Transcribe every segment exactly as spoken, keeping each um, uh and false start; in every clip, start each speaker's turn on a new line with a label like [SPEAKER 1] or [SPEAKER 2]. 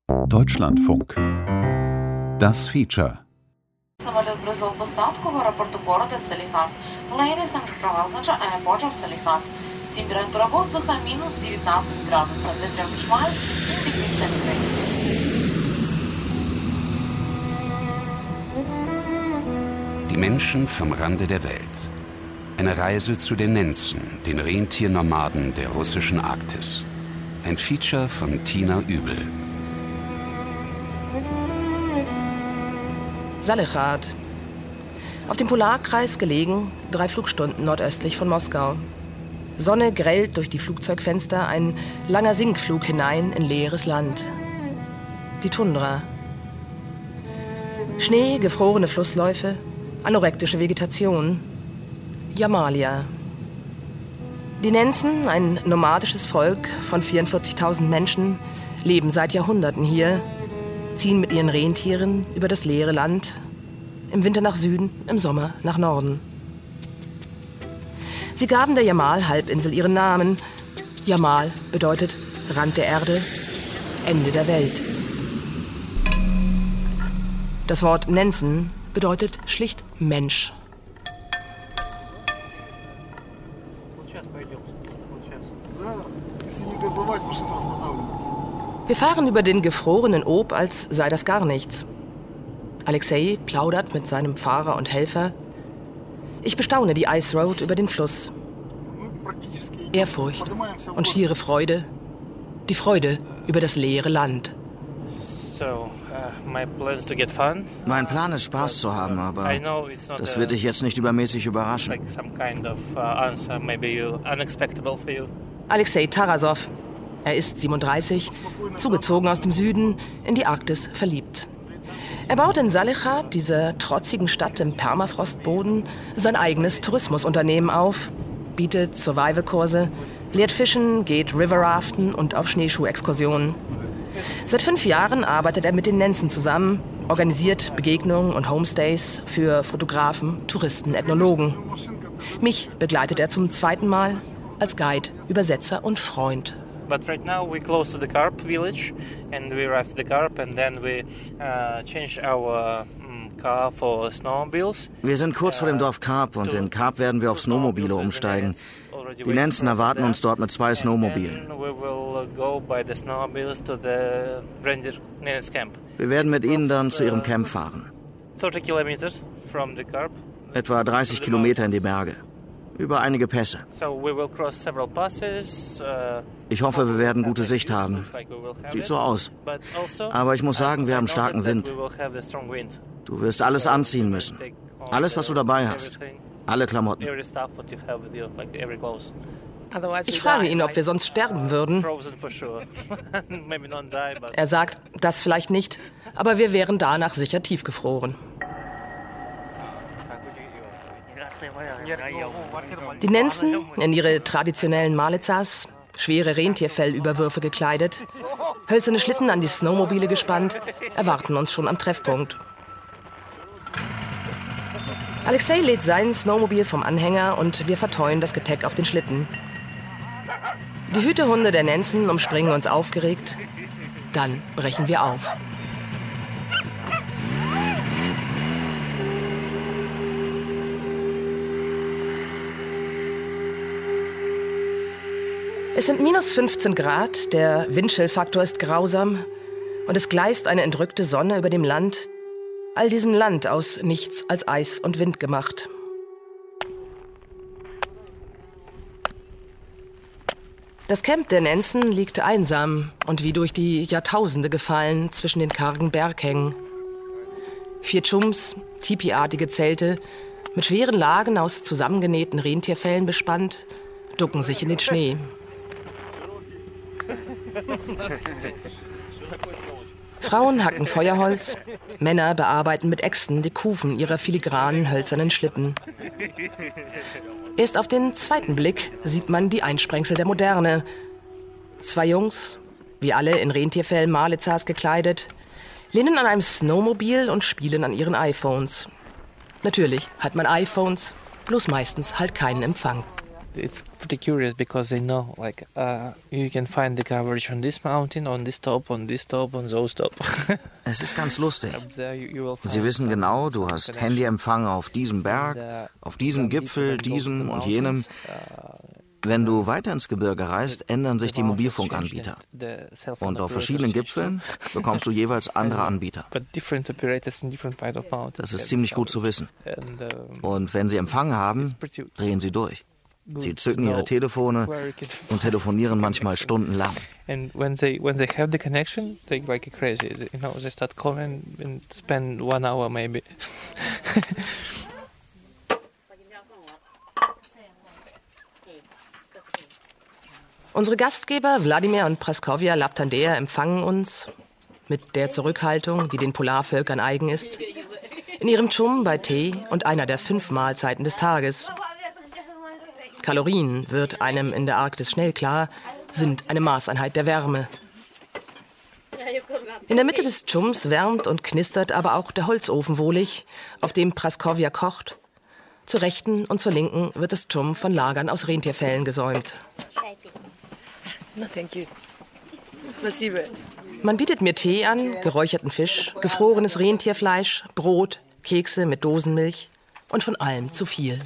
[SPEAKER 1] Deutschlandfunk. Das Feature.
[SPEAKER 2] Самолет бросил посадку в аэропорту города Салихард. Ladies and gentlemen, airport of Салихард. Температура воздуха минус девятнадцать градусов. The temperature is degrees centigrade.
[SPEAKER 3] Die Menschen vom Rande der Welt. Eine Reise zu den Nenzen, den Rentiernomaden der russischen Arktis. Ein Feature von Tina Übel.
[SPEAKER 4] Salichrad. Auf dem Polarkreis gelegen, drei Flugstunden nordöstlich von Moskau. Sonne grellt durch die Flugzeugfenster, ein langer Sinkflug hinein in leeres Land. Die Tundra. Schnee, gefrorene Flussläufe, anorektische Vegetation. Jamalia. Die Nenzen, ein nomadisches Volk von vierundvierzigtausend Menschen, leben seit Jahrhunderten hier, ziehen mit ihren Rentieren über das leere Land, im Winter nach Süden, im Sommer nach Norden. Sie gaben der Jamal-Halbinsel ihren Namen. Jamal bedeutet Rand der Erde, Ende der Welt. Das Wort Nenzen bedeutet schlicht Mensch. Wir fahren über den gefrorenen Ob, als sei das gar nichts. Alexei plaudert mit seinem Fahrer und Helfer. Ich bestaune die Ice Road über den Fluss. Ehrfurcht und schiere Freude. Die Freude über das leere Land.
[SPEAKER 5] Mein Plan ist, Spaß zu haben, aber das wird dich jetzt nicht übermäßig überraschen.
[SPEAKER 4] Alexei Tarasov. Er ist siebenunddreißig, zugezogen aus dem Süden, in die Arktis verliebt. Er baut in Salichrad, dieser trotzigen Stadt im Permafrostboden, sein eigenes Tourismusunternehmen auf, bietet Survival-Kurse, lehrt Fischen, geht Riverraften und auf Schneeschuhexkursionen. Seit fünf Jahren arbeitet er mit den Nenzen zusammen, organisiert Begegnungen und Homestays für Fotografen, Touristen, Ethnologen. Mich begleitet er zum zweiten Mal als Guide, Übersetzer und Freund.
[SPEAKER 6] But right now we're close to the Karp village, and we arrived at the Karp, and then we uh, changed our um, car for snowmobiles.
[SPEAKER 5] Wir sind kurz vor dem Dorf Karp und in Karp werden wir auf Snowmobile umsteigen. Die Nenzen erwarten uns dort mit zwei Snowmobilen. Wir werden mit ihnen dann zu ihrem Camp fahren. Etwa dreißig Kilometer in die Berge. Über einige Pässe. Ich hoffe, wir werden gute Sicht haben. Sieht so aus. Aber ich muss sagen, wir haben starken Wind. Du wirst alles anziehen müssen. Alles, was du dabei hast. Alle Klamotten.
[SPEAKER 4] Ich frage ihn, ob wir sonst sterben würden. Er sagt, das vielleicht nicht, aber wir wären danach sicher tiefgefroren. Die Nenzen, in ihre traditionellen Malizas, schwere Rentierfellüberwürfe gekleidet, hölzerne Schlitten an die Snowmobile gespannt, erwarten uns schon am Treffpunkt. Alexei lädt sein Snowmobil vom Anhänger und wir verteuen das Gepäck auf den Schlitten. Die Hütehunde der Nenzen umspringen uns aufgeregt. Dann brechen wir auf. Es sind minus fünfzehn Grad, der Windchill-Faktor ist grausam und es gleist eine entrückte Sonne über dem Land, all diesem Land aus nichts als Eis und Wind gemacht. Das Camp der Nenzen liegt einsam und wie durch die Jahrtausende gefallen zwischen den kargen Berghängen. Vier Chums, tipiartige Zelte, mit schweren Lagen aus zusammengenähten Rentierfellen bespannt, ducken sich in den Schnee. Frauen hacken Feuerholz, Männer bearbeiten mit Äxten die Kufen ihrer filigranen hölzernen Schlitten. Erst auf den zweiten Blick sieht man die Einsprengsel der Moderne. Zwei Jungs, wie alle in Rentierfell Malizas gekleidet, lehnen an einem Snowmobil und spielen an ihren iPhones. Natürlich hat man iPhones, bloß meistens halt keinen Empfang.
[SPEAKER 6] It's pretty curious because they know, like, uh, you can find the coverage on this mountain, on this top, on this top, on those top.
[SPEAKER 5] Es ist ganz lustig. Sie wissen genau, du hast Handyempfang auf diesem Berg, auf diesem Gipfel, diesem und jenem. Wenn du weiter ins Gebirge reist, ändern sich die Mobilfunkanbieter. Und auf verschiedenen Gipfeln bekommst du jeweils andere Anbieter. Das ist ziemlich gut zu wissen. Und wenn sie Empfang haben, drehen sie durch. Sie zücken ihre Telefone und telefonieren manchmal stundenlang.
[SPEAKER 6] And when they when they have the connection, they like crazy. You know, they start calling and spend one hour maybe.
[SPEAKER 4] Unsere Gastgeber Wladimir und Praskovja Laptandea empfangen uns mit der Zurückhaltung, die den Polarvölkern eigen ist, in ihrem Tschum bei Tee und einer der fünf Mahlzeiten des Tages. Kalorien, wird einem in der Arktis schnell klar, sind eine Maßeinheit der Wärme. In der Mitte des Tschums wärmt und knistert aber auch der Holzofen wohlig, auf dem Praskovja kocht. Zur Rechten und zur Linken wird das Tschum von Lagern aus Rentierfellen gesäumt.
[SPEAKER 7] No, thank you.
[SPEAKER 4] Man bietet mir Tee an, geräucherten Fisch, gefrorenes Rentierfleisch, Brot, Kekse mit Dosenmilch und von allem zu viel.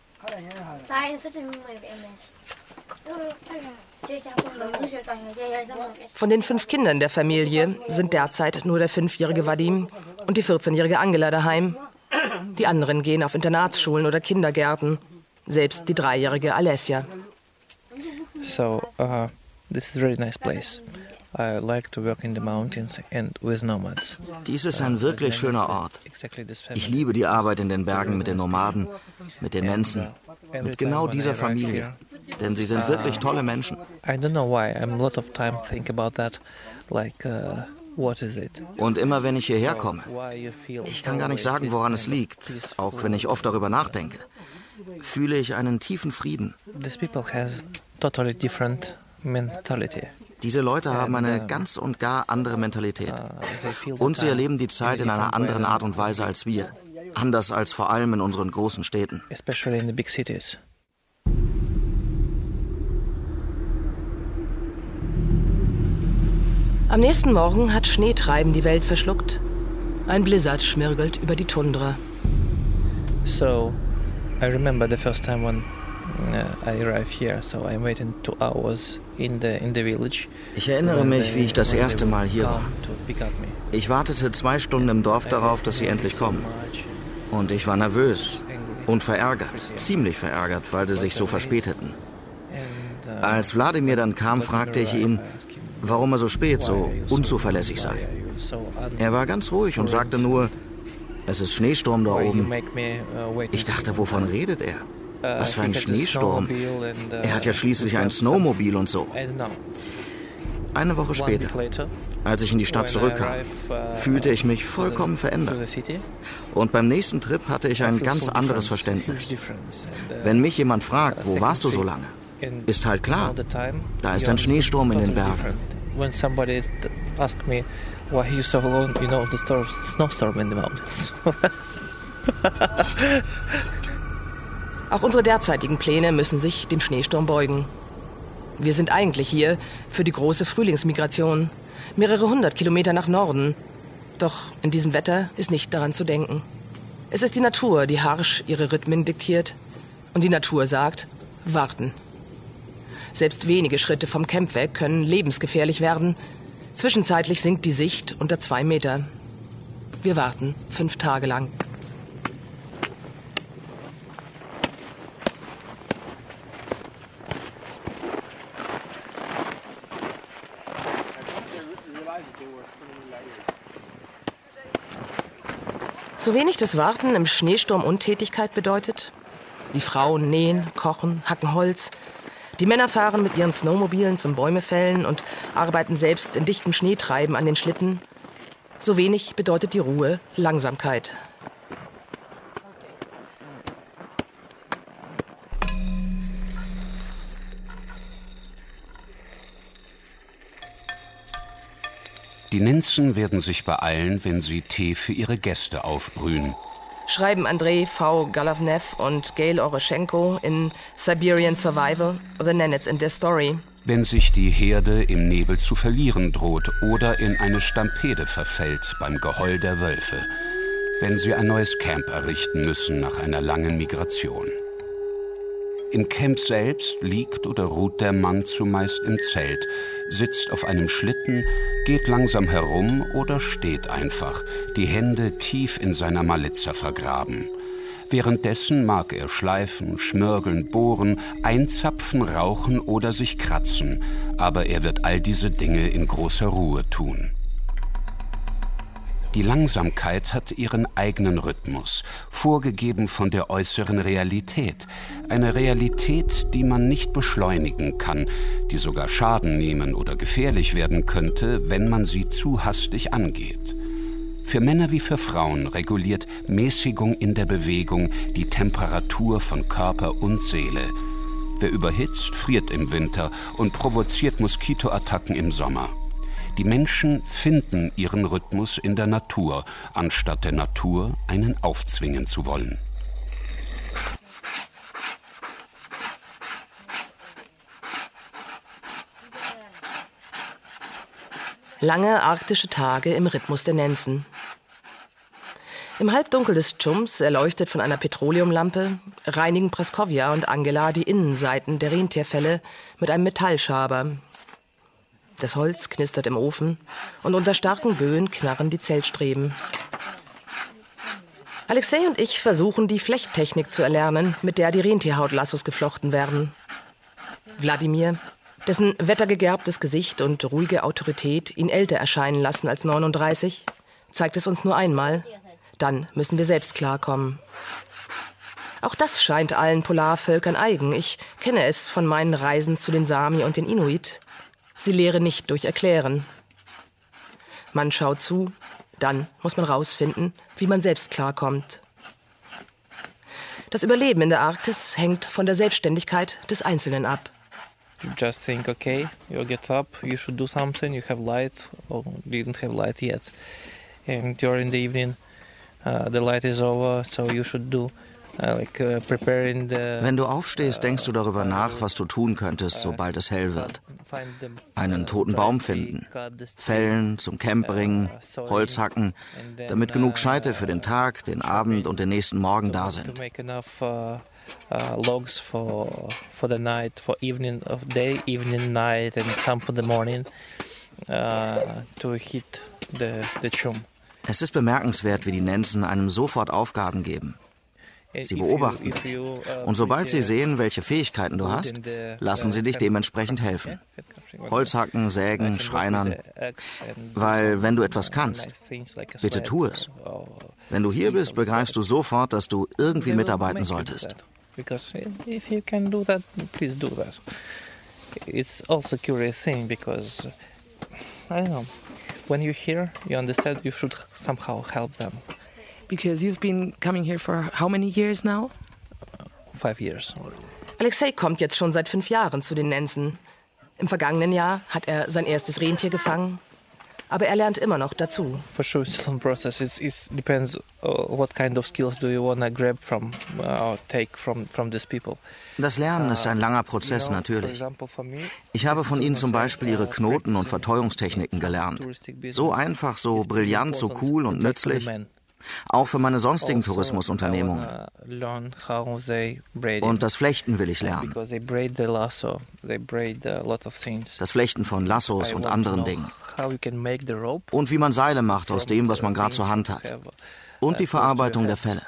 [SPEAKER 4] Von den fünf Kindern der Familie sind derzeit nur der fünfjährige Vadim und die vierzehnjährige Angela daheim. Die anderen gehen auf Internatsschulen oder Kindergärten, selbst die dreijährige Alessia.
[SPEAKER 6] So, uh, this is a really nice place. I like to work in the mountains and with nomads.
[SPEAKER 5] Dies ist ein wirklich schöner Ort. Ich liebe die Arbeit in den Bergen mit den Nomaden, mit den Nenzen, mit genau dieser Familie. Denn sie sind wirklich tolle Menschen.
[SPEAKER 6] I don't know why. I'm a lot of time think about that. Like, uh, what is it?
[SPEAKER 5] Und immer wenn ich hierher komme, ich kann gar nicht sagen, woran es liegt, auch wenn ich oft darüber nachdenke, fühle ich einen tiefen Frieden.
[SPEAKER 6] These people has totally different mentality.
[SPEAKER 5] Diese Leute haben eine ganz und gar andere Mentalität. Und sie erleben die Zeit in einer anderen Art und Weise als wir. Anders als vor allem in unseren großen Städten.
[SPEAKER 6] Especially in the big cities.
[SPEAKER 4] Am nächsten Morgen hat Schneetreiben die Welt verschluckt. Ein Blizzard schmirgelt über die Tundra.
[SPEAKER 6] So, I remember the first time when uh, I arrived here. So I waited two hours in the in the village.
[SPEAKER 5] Ich erinnere mich, wie ich das erste Mal hier war. Ich wartete zwei Stunden im Dorf darauf, dass sie endlich kommen. Und ich war nervös und verärgert, ziemlich verärgert, weil sie sich so verspäteten. Als Wladimir dann kam, fragte ich ihn, warum er so spät, so unzuverlässig sei. Er war ganz ruhig und sagte nur, es ist Schneesturm da oben. Ich dachte, wovon redet er? Was für ein Schneesturm? Er hat ja schließlich ein Snowmobil und so. Eine Woche später, als ich in die Stadt zurückkam, fühlte ich mich vollkommen verändert. Und beim nächsten Trip hatte ich ein ganz anderes Verständnis. Wenn mich jemand fragt, wo warst du so lange, ist halt klar, da ist ein Schneesturm in den Bergen.
[SPEAKER 6] When somebody asks me why you so alone, you know the storm, snowstorm in the mountains.
[SPEAKER 4] Auch unsere derzeitigen Pläne müssen sich dem Schneesturm beugen. Wir sind eigentlich hier für die große Frühlingsmigration, mehrere hundert Kilometer nach Norden. Doch in diesem Wetter ist nicht daran zu denken. Es ist die Natur, die harsch ihre Rhythmen diktiert. Und die Natur sagt, warten. Selbst wenige Schritte vom Camp weg können lebensgefährlich werden. Zwischenzeitlich sinkt die Sicht unter zwei Meter. Wir warten fünf Tage lang. So wenig das Warten im Schneesturm Untätigkeit bedeutet. Die Frauen nähen, kochen, hacken Holz. Die Männer fahren mit ihren Snowmobilen zum Bäumefällen und arbeiten selbst in dichtem Schneetreiben an den Schlitten. So wenig bedeutet die Ruhe Langsamkeit.
[SPEAKER 3] Die Nenzen werden sich beeilen, wenn sie Tee für ihre Gäste aufbrühen.
[SPEAKER 4] schreiben Andrei V. Galavnev und Gail Oroschenko in Siberian Survival, The Nenets and Their Story.
[SPEAKER 3] Wenn sich die Herde im Nebel zu verlieren droht oder in eine Stampede verfällt beim Geheul der Wölfe, wenn sie ein neues Camp errichten müssen nach einer langen Migration. Im Camp selbst liegt oder ruht der Mann zumeist im Zelt, sitzt auf einem Schlitten, geht langsam herum oder steht einfach, die Hände tief in seiner Malitza vergraben. Währenddessen mag er schleifen, schmörgeln, bohren, einzapfen, rauchen oder sich kratzen, aber er wird all diese Dinge in großer Ruhe tun. Die Langsamkeit hat ihren eigenen Rhythmus, vorgegeben von der äußeren Realität. Eine Realität, die man nicht beschleunigen kann, die sogar Schaden nehmen oder gefährlich werden könnte, wenn man sie zu hastig angeht. Für Männer wie für Frauen reguliert Mäßigung in der Bewegung die Temperatur von Körper und Seele. Wer überhitzt, friert im Winter und provoziert Moskitoattacken im Sommer. Die Menschen finden ihren Rhythmus in der Natur, anstatt der Natur einen aufzwingen zu wollen.
[SPEAKER 4] Lange arktische Tage im Rhythmus der Nenzen. Im Halbdunkel des Tschums, erleuchtet von einer Petroleumlampe, reinigen Praskovja und Angela die Innenseiten der Rentierfelle mit einem Metallschaber. Das Holz knistert im Ofen und unter starken Böen knarren die Zeltstreben. Alexei und ich versuchen, die Flechttechnik zu erlernen, mit der die Rentierhautlassos geflochten werden. Wladimir, dessen wettergegerbtes Gesicht und ruhige Autorität ihn älter erscheinen lassen als neununddreißig, zeigt es uns nur einmal. Dann müssen wir selbst klarkommen. Auch das scheint allen Polarvölkern eigen. Ich kenne es von meinen Reisen zu den Sami und den Inuit. Sie lehren nicht durch Erklären. Man schaut zu, dann muss man rausfinden, wie man selbst klarkommt. Das Überleben in der Arktis hängt von der Selbstständigkeit des Einzelnen ab.
[SPEAKER 6] You just think, okay, you get up, you should do something, you have light, or didn't have light yet. And during the evening, uh, the light is over, so you should do uh, like uh, preparing the...
[SPEAKER 5] Wenn du aufstehst, denkst du darüber nach, was du tun könntest, sobald es hell wird. Einen toten Baum finden, fällen, zum Camp bringen, Holz hacken, damit genug Scheite für den Tag, den Abend und den nächsten Morgen da sind.
[SPEAKER 6] Uh, logs for for the night, for evening of day, evening, night, and some for the morning uh, to heat the the chum.
[SPEAKER 5] Es ist bemerkenswert, wie die Nenzen einem sofort Aufgaben geben. Sie beobachten dich. Und sobald sie sehen, welche Fähigkeiten du hast, lassen sie dich dementsprechend helfen. Holz hacken, sägen, schreinern. Weil wenn du etwas kannst, bitte tu es. Wenn du hier bist, begreifst du sofort, dass du irgendwie mitarbeiten solltest.
[SPEAKER 6] Because if you can do that, please do that. It's also a curious thing because, I don't know, when you're here, you understand you should somehow help them.
[SPEAKER 7] Because you've been coming here for how many years now?
[SPEAKER 6] Uh, five years.
[SPEAKER 4] Alexei kommt jetzt schon seit fünf Jahren zu den Nenzen. Im vergangenen Jahr hat er sein erstes Rentier gefangen. Aber er lernt immer noch dazu.
[SPEAKER 6] For sure, it's a long process. It it depends uh, what kind of skills do you want to grab from or uh, take from from these people.
[SPEAKER 5] Das Lernen ist ein langer Prozess, natürlich. Ich habe von ihnen zum Beispiel ihre Knoten- und Verteuungstechniken gelernt. So einfach, so brillant, so cool und nützlich. Auch für meine sonstigen Tourismusunternehmungen. Und das Flechten will ich lernen. Das Flechten von Lassos und anderen Dingen. Und wie man Seile macht aus dem, was man gerade zur Hand hat. Und die Verarbeitung der Felle.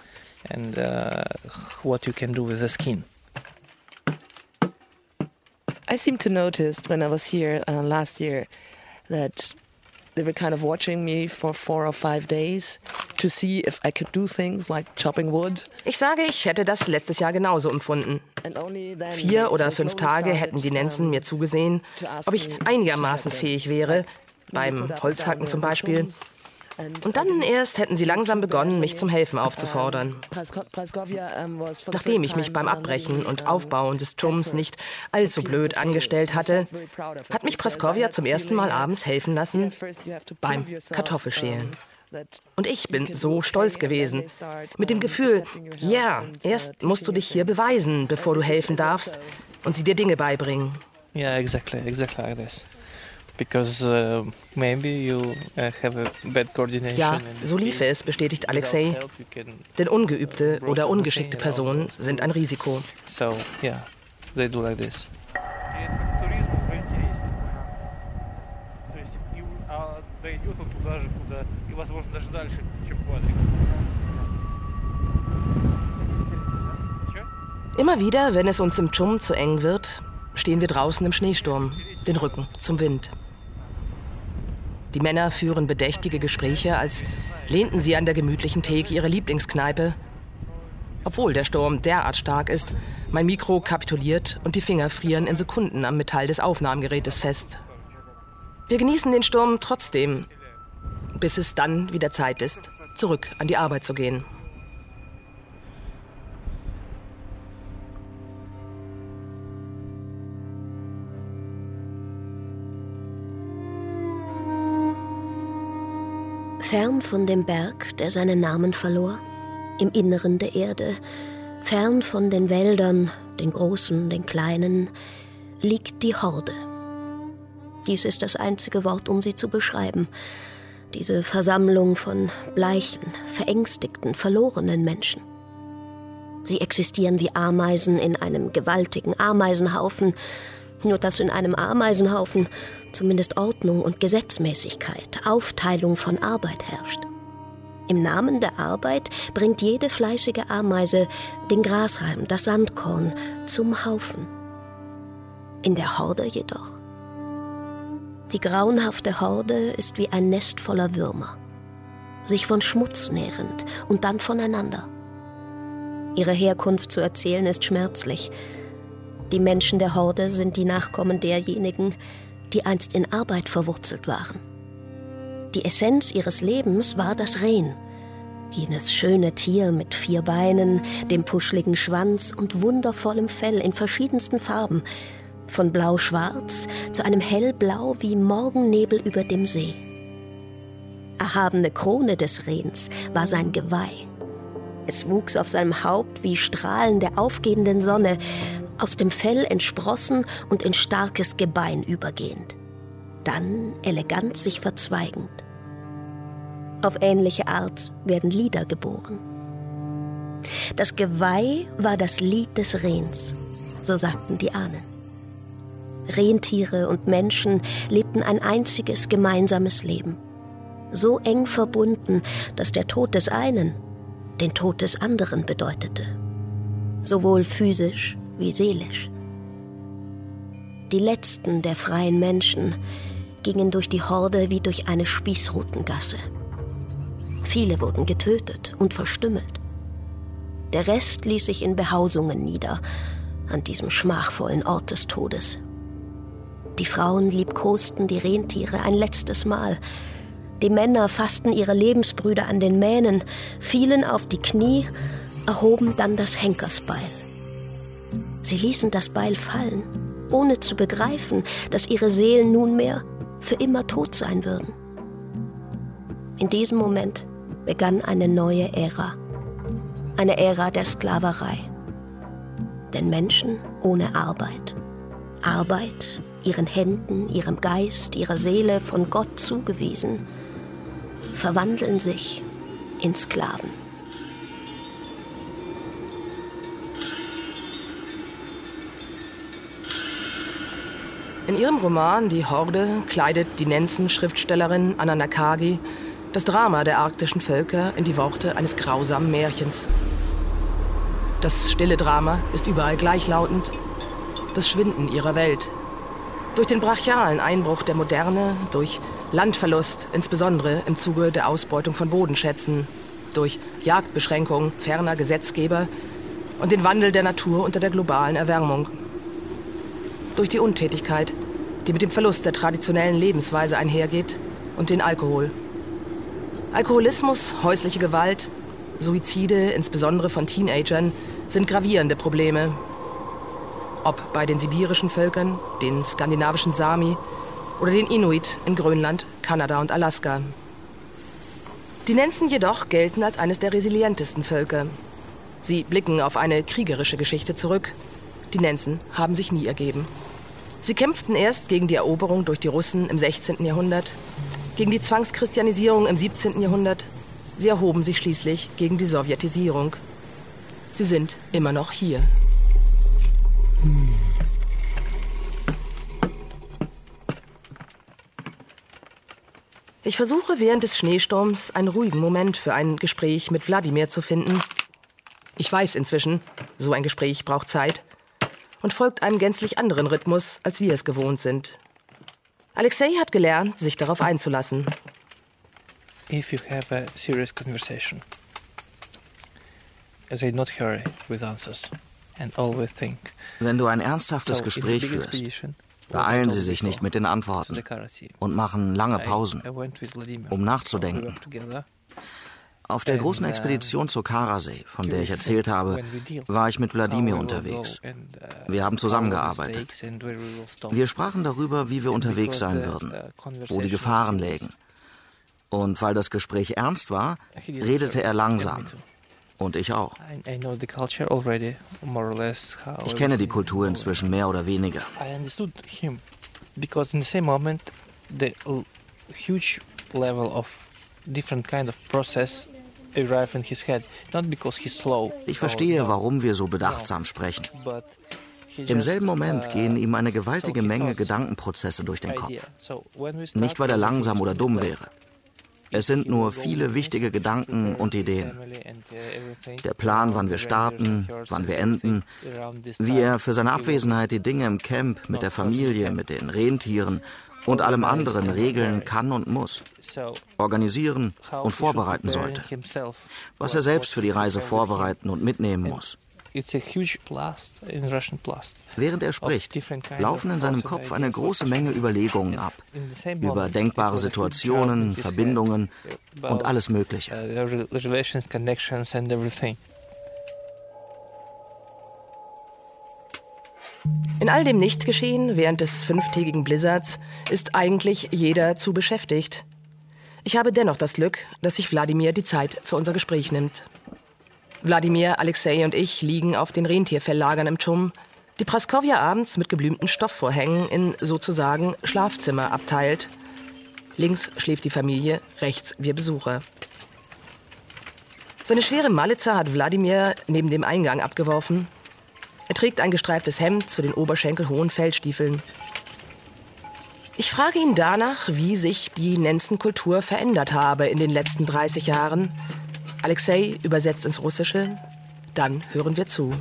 [SPEAKER 7] I seem to notice when I was here uh, last year that they were kind of watching me for four or five days to see if I could do things like chopping wood.
[SPEAKER 4] Ich sage, ich hätte das letztes Jahr genauso empfunden. Vier oder fünf Tage hätten die Nenzen mir zugesehen, ob ich einigermaßen fähig wäre, beim Holzhacken zum Beispiel. Und dann erst hätten sie langsam begonnen, mich zum Helfen aufzufordern. Nachdem ich mich beim Abbrechen und Aufbauen des Tschums nicht allzu blöd angestellt hatte, hat mich Praskovja zum ersten Mal abends helfen lassen beim Kartoffelschälen. Und ich bin so stolz gewesen. Mit dem Gefühl, ja, erst musst du dich hier beweisen, bevor du helfen darfst und sie dir Dinge beibringen.
[SPEAKER 6] Yeah, exactly, exactly like this. Because uh, maybe you uh, have a bad coordination.
[SPEAKER 4] Ja, so lief es, bestätigt Alexei. Denn ungeübte oder ungeschickte Personen sind ein Risiko.
[SPEAKER 6] So, yeah, they do like this.
[SPEAKER 4] Immer wieder, wenn es uns im Dschum zu eng wird, stehen wir draußen im Schneesturm, den Rücken zum Wind. Die Männer führen bedächtige Gespräche, als lehnten sie an der gemütlichen Theke ihrer Lieblingskneipe. Obwohl der Sturm derart stark ist, mein Mikro kapituliert und die Finger frieren in Sekunden am Metall des Aufnahmegerätes fest. Wir genießen den Sturm trotzdem, bis es dann wieder Zeit ist, zurück an die Arbeit zu gehen.
[SPEAKER 8] Fern von dem Berg, der seinen Namen verlor, im Inneren der Erde, fern von den Wäldern, den großen, den kleinen, liegt die Horde. Dies ist das einzige Wort, um sie zu beschreiben. Diese Versammlung von bleichen, verängstigten, verlorenen Menschen. Sie existieren wie Ameisen in einem gewaltigen Ameisenhaufen, nur dass in einem Ameisenhaufen zumindest Ordnung und Gesetzmäßigkeit, Aufteilung von Arbeit herrscht. Im Namen der Arbeit bringt jede fleißige Ameise den Grashalm, das Sandkorn zum Haufen. In der Horde jedoch. Die grauenhafte Horde ist wie ein Nest voller Würmer, sich von Schmutz nährend und dann voneinander. Ihre Herkunft zu erzählen ist schmerzlich. Die Menschen der Horde sind die Nachkommen derjenigen, die einst in Arbeit verwurzelt waren. Die Essenz ihres Lebens war das Rehen, jenes schöne Tier mit vier Beinen, dem puschligen Schwanz und wundervollem Fell in verschiedensten Farben, von blau-schwarz zu einem hellblau wie Morgennebel über dem See. Erhabene Krone des Rehens war sein Geweih. Es wuchs auf seinem Haupt wie Strahlen der aufgehenden Sonne, aus dem Fell entsprossen und in starkes Gebein übergehend, dann elegant sich verzweigend. Auf ähnliche Art werden Lieder geboren. Das Geweih war das Lied des Rehens, so sagten die Ahnen. Rentiere und Menschen lebten ein einziges gemeinsames Leben, so eng verbunden, dass der Tod des einen den Tod des anderen bedeutete, sowohl physisch wie seelisch. Die letzten der freien Menschen gingen durch die Horde wie durch eine Spießrutengasse. Viele wurden getötet und verstümmelt. Der Rest ließ sich in Behausungen nieder, an diesem schmachvollen Ort des Todes. Die Frauen liebkosten die Rentiere ein letztes Mal. Die Männer fassten ihre Lebensbrüder an den Mähnen, fielen auf die Knie, erhoben dann das Henkersbeil. Sie ließen das Beil fallen, ohne zu begreifen, dass ihre Seelen nunmehr für immer tot sein würden. In diesem Moment begann eine neue Ära, eine Ära der Sklaverei. Denn Menschen ohne Arbeit, Arbeit ihren Händen, ihrem Geist, ihrer Seele von Gott zugewiesen, verwandeln sich in Sklaven.
[SPEAKER 4] In ihrem Roman Die Horde kleidet die Nenzen-Schriftstellerin Anna Nakagi das Drama der arktischen Völker in die Worte eines grausamen Märchens. Das stille Drama ist überall gleichlautend, das Schwinden ihrer Welt. Durch den brachialen Einbruch der Moderne, durch Landverlust, insbesondere im Zuge der Ausbeutung von Bodenschätzen, durch Jagdbeschränkungen ferner Gesetzgeber und den Wandel der Natur unter der globalen Erwärmung. Durch die Untätigkeit, die mit dem Verlust der traditionellen Lebensweise einhergeht, und den Alkohol. Alkoholismus, häusliche Gewalt, Suizide, insbesondere von Teenagern, sind gravierende Probleme. Ob bei den sibirischen Völkern, den skandinavischen Sami oder den Inuit in Grönland, Kanada und Alaska. Die Nenzen jedoch gelten als eines der resilientesten Völker. Sie blicken auf eine kriegerische Geschichte zurück. Die Nenzen haben sich nie ergeben. Sie kämpften erst gegen die Eroberung durch die Russen im sechzehnten Jahrhundert, gegen die Zwangschristianisierung im siebzehnten Jahrhundert. Sie erhoben sich schließlich gegen die Sowjetisierung. Sie sind immer noch hier. Ich versuche während des Schneesturms einen ruhigen Moment für ein Gespräch mit Wladimir zu finden. Ich weiß inzwischen, so ein Gespräch braucht Zeit und folgt einem gänzlich anderen Rhythmus, als wir es gewohnt sind. Alexei hat gelernt, sich darauf einzulassen.
[SPEAKER 6] If you have a serious conversation, say not hurry with answers and always think.
[SPEAKER 5] Wenn du ein ernsthaftes Gespräch führst, beeilen Sie sich nicht mit den Antworten und machen lange Pausen, um nachzudenken. Auf der großen Expedition zur Karasee, von der ich erzählt habe, war ich mit Wladimir unterwegs. Wir haben zusammengearbeitet. Wir sprachen darüber, wie wir unterwegs sein würden, wo die Gefahren lägen. Und weil das Gespräch ernst war, redete er langsam. Und ich auch. Ich kenne die Kultur inzwischen mehr oder weniger.
[SPEAKER 6] Because in the same moment, the huge level of different kind of process arrive in his head. Not because he's slow.
[SPEAKER 5] Ich verstehe, warum wir so bedachtsam sprechen. Im selben Moment gehen ihm eine gewaltige Menge Gedankenprozesse durch den Kopf. Nicht, weil er langsam oder dumm wäre. Es sind nur viele wichtige Gedanken und Ideen. Der Plan, wann wir starten, wann wir enden, wie er für seine Abwesenheit die Dinge im Camp, mit der Familie, mit den Rentieren und allem anderen regeln kann und muss, organisieren und vorbereiten sollte, was er selbst für die Reise vorbereiten und mitnehmen muss. Während er spricht, laufen in seinem Kopf eine große Menge Überlegungen ab, über denkbare Situationen, Verbindungen und alles Mögliche.
[SPEAKER 4] In all dem Nichtgeschehen während des fünftägigen Blizzards ist eigentlich jeder zu beschäftigt. Ich habe dennoch das Glück, dass sich Wladimir die Zeit für unser Gespräch nimmt. Wladimir, Alexei und ich liegen auf den Rentierfelllagern im Tschum, die Praskowja abends mit geblümten Stoffvorhängen in sozusagen Schlafzimmer abteilt. Links schläft die Familie, rechts wir Besucher. Seine schwere Malitza hat Wladimir neben dem Eingang abgeworfen. Er trägt ein gestreiftes Hemd zu den oberschenkelhohen Fellstiefeln. Ich frage ihn danach, wie sich die Nenzenkultur verändert habe in den letzten dreißig Jahren. Alexei übersetzt ins Russische. Dann hören wir zu.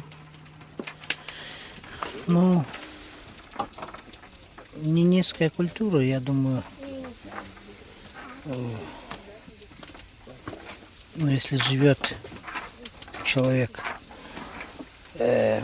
[SPEAKER 9] Ну, ненецкая культура, я думаю, ну, если живет человек, э,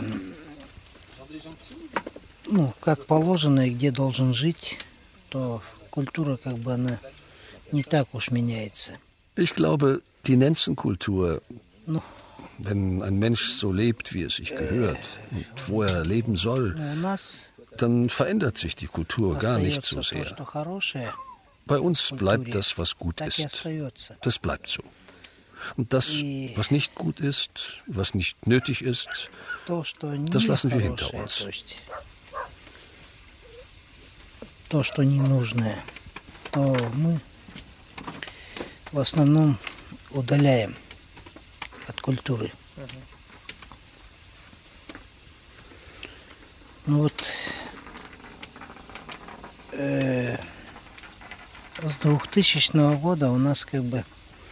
[SPEAKER 9] ну, как положено и где должен жить, то культура, как бы, она не так уж меняется.
[SPEAKER 10] Ich glaube, die Nenzenkultur,
[SPEAKER 9] No.
[SPEAKER 10] wenn ein Mensch so lebt, wie es sich gehört und wo er leben soll, dann verändert sich die Kultur gar nicht so sehr. Bei uns bleibt das, was gut ist. Das bleibt so. Und das, was nicht gut ist, was nicht nötig ist, das lassen wir hinter uns.
[SPEAKER 9] То, что не нужно, то мы в основном удаляем от культуры. Ну вот э, с двухтысячного года у нас как бы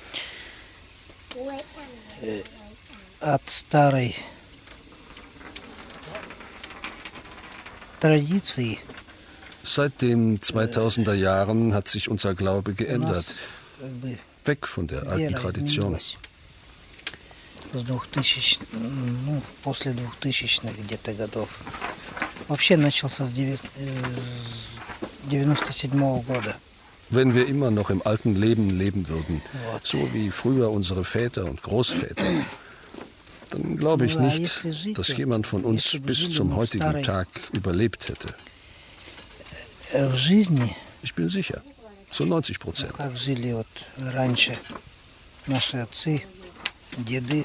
[SPEAKER 9] э, от старой традиции.
[SPEAKER 10] Seit den zweitausender Jahren hat sich unser Glaube geändert. Weg von der alten Tradition.
[SPEAKER 9] С двухтысячных, ну, после двухтысячных где-то годов. Вообще начался с девяносто седьмого года.
[SPEAKER 10] Wenn wir immer noch im alten Leben leben würden, so wie früher unsere Väter und Großväter, dann glaube ich nicht, dass jemand von uns bis zum heutigen Tag überlebt hätte. Ich bin sicher, zu neunzig Prozent.
[SPEAKER 9] Как жили вот раньше наши отцы, деды.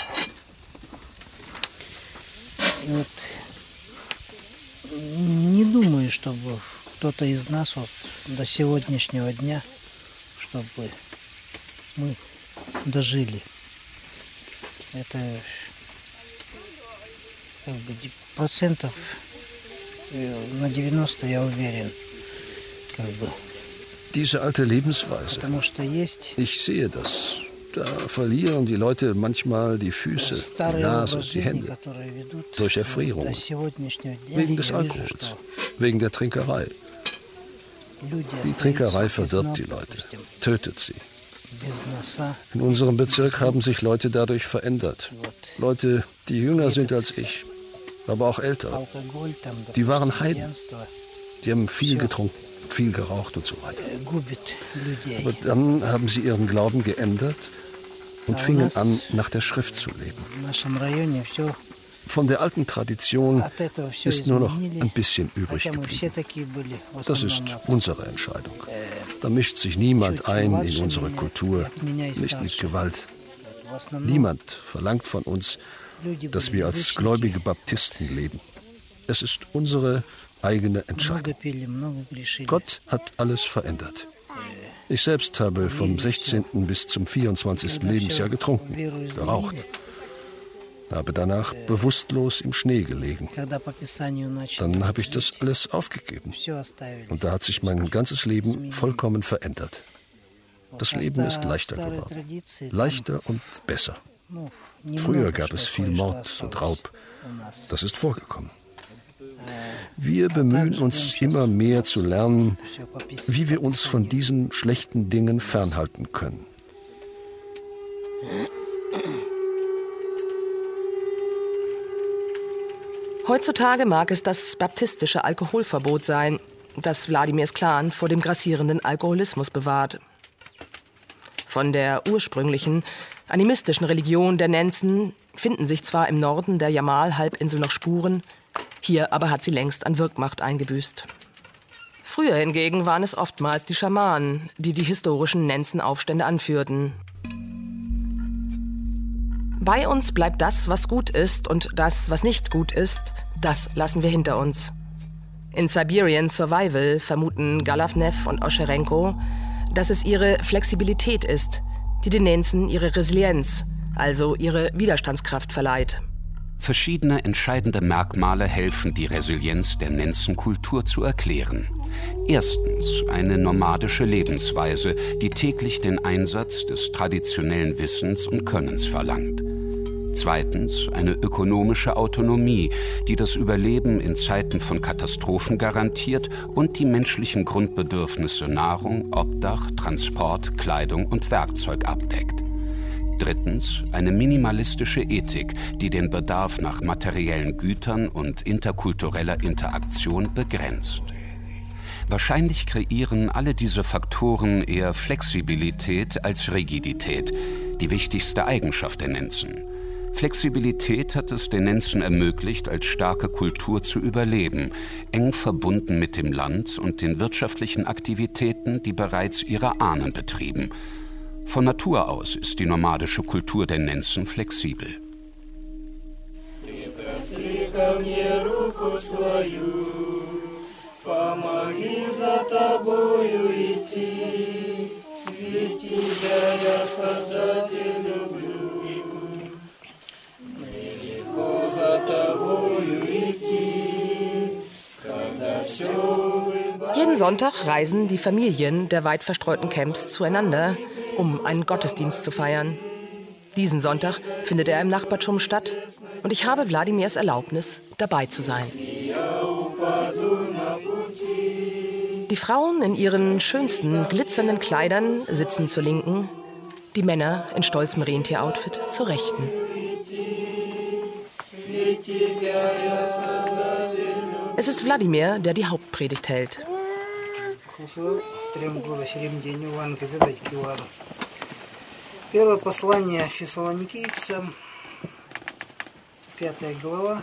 [SPEAKER 9] И вот не думаю, чтобы кто-то из нас вот до сегодняшнего дня, чтобы мы дожили. Это как бы процентов на девяносто, я уверен, как бы.
[SPEAKER 10] Diese alte Lebensweise. Ich sehe das. Da verlieren die Leute manchmal die Füße, die Nase, die Hände. Durch Erfrierung. Wegen des Alkohols. Wegen der Trinkerei. Die Trinkerei verdirbt die Leute, tötet sie. In unserem Bezirk haben sich Leute dadurch verändert. Leute, die jünger sind als ich, aber auch älter. Die waren Heiden. Die haben viel getrunken, viel geraucht und so weiter. Aber dann haben sie ihren Glauben geändert und fingen an, nach der Schrift zu leben. Von der alten Tradition ist nur noch ein bisschen übrig geblieben. Das ist unsere Entscheidung. Da mischt sich niemand ein in unsere Kultur, nicht mit Gewalt. Niemand verlangt von uns, dass wir als gläubige Baptisten leben. Es ist unsere eigene Entscheidung. Gott hat alles verändert. Ich selbst habe vom sechzehnten bis zum vierundzwanzigsten Lebensjahr getrunken, geraucht. Habe danach bewusstlos im Schnee gelegen. Dann habe ich das alles aufgegeben. Und da hat sich mein ganzes Leben vollkommen verändert. Das Leben ist leichter geworden. Leichter und besser. Früher gab es viel Mord und Raub. Das ist vorgekommen. Wir bemühen uns immer mehr zu lernen, wie wir uns von diesen schlechten Dingen fernhalten können.
[SPEAKER 4] Heutzutage mag es das baptistische Alkoholverbot sein, das Wladimirs Clan vor dem grassierenden Alkoholismus bewahrt. Von der ursprünglichen, animistischen Religion der Nenzen finden sich zwar im Norden der Jamal-Halbinsel noch Spuren, hier aber hat sie längst an Wirkmacht eingebüßt. Früher hingegen waren es oftmals die Schamanen, die die historischen Nenzen-Aufstände anführten. Bei uns bleibt das, was gut ist, und das, was nicht gut ist, das lassen wir hinter uns. In Siberian Survival vermuten Galavnev und Oscherenko, dass es ihre Flexibilität ist, die den Nenzen ihre Resilienz, also ihre Widerstandskraft verleiht.
[SPEAKER 3] Verschiedene entscheidende Merkmale helfen, die Resilienz der Nenzen-Kultur zu erklären. Erstens eine nomadische Lebensweise, die täglich den Einsatz des traditionellen Wissens und Könnens verlangt. Zweitens eine ökonomische Autonomie, die das Überleben in Zeiten von Katastrophen garantiert und die menschlichen Grundbedürfnisse Nahrung, Obdach, Transport, Kleidung und Werkzeug abdeckt. Drittens eine minimalistische Ethik, die den Bedarf nach materiellen Gütern und interkultureller Interaktion begrenzt. Wahrscheinlich kreieren alle diese Faktoren eher Flexibilität als Rigidität, die wichtigste Eigenschaft der Nenzen. Flexibilität hat es den Nenzen ermöglicht, als starke Kultur zu überleben, eng verbunden mit dem Land und den wirtschaftlichen Aktivitäten, die bereits ihre Ahnen betrieben. Von Natur aus ist die nomadische Kultur der Nenzen flexibel.
[SPEAKER 4] Jeden Sonntag reisen die Familien der weit verstreuten Camps zueinander, um einen Gottesdienst zu feiern. Diesen Sonntag findet er im Nachbartum statt und ich habe Wladimirs Erlaubnis, dabei zu sein. Die Frauen in ihren schönsten, glitzernden Kleidern sitzen zur Linken, die Männer in stolzem Rentieroutfit zur Rechten. Es ist Wladimir, der die Hauptpredigt hält.
[SPEAKER 9] Первое послание Фессалоникийцам, пятая глава,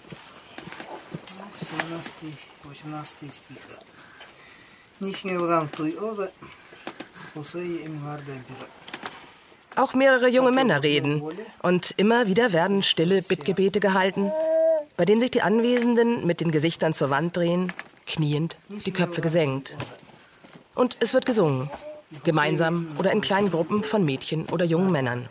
[SPEAKER 9] семнадцатый-восемнадцатый стиха. Ничего вам туй ода, усвои им гарда бира.
[SPEAKER 4] Auch mehrere junge Männer reden. Und immer wieder werden stille Bittgebete gehalten, bei denen sich die Anwesenden mit den Gesichtern zur Wand drehen, kniend, die Köpfe gesenkt. Und es wird gesungen, gemeinsam oder in kleinen Gruppen von Mädchen oder jungen Männern.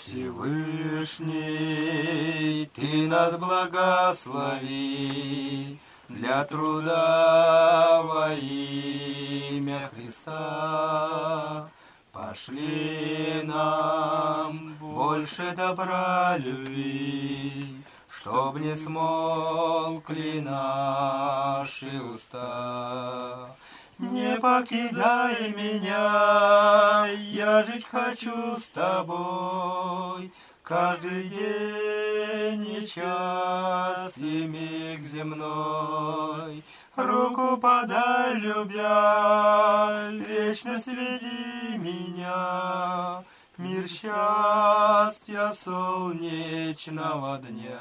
[SPEAKER 11] Всевышний, ты нас благослови для труда во имя Христа. Пошли нам больше добра любви, чтоб не смолкли наши уста. Не покидай меня, я жить хочу с тобой, каждый день и час и миг земной. Руку подай, любя, вечно сведи меня, мир счастья солнечного дня.